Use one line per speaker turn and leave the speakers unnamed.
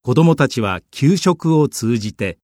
子どもたちは給食を通じて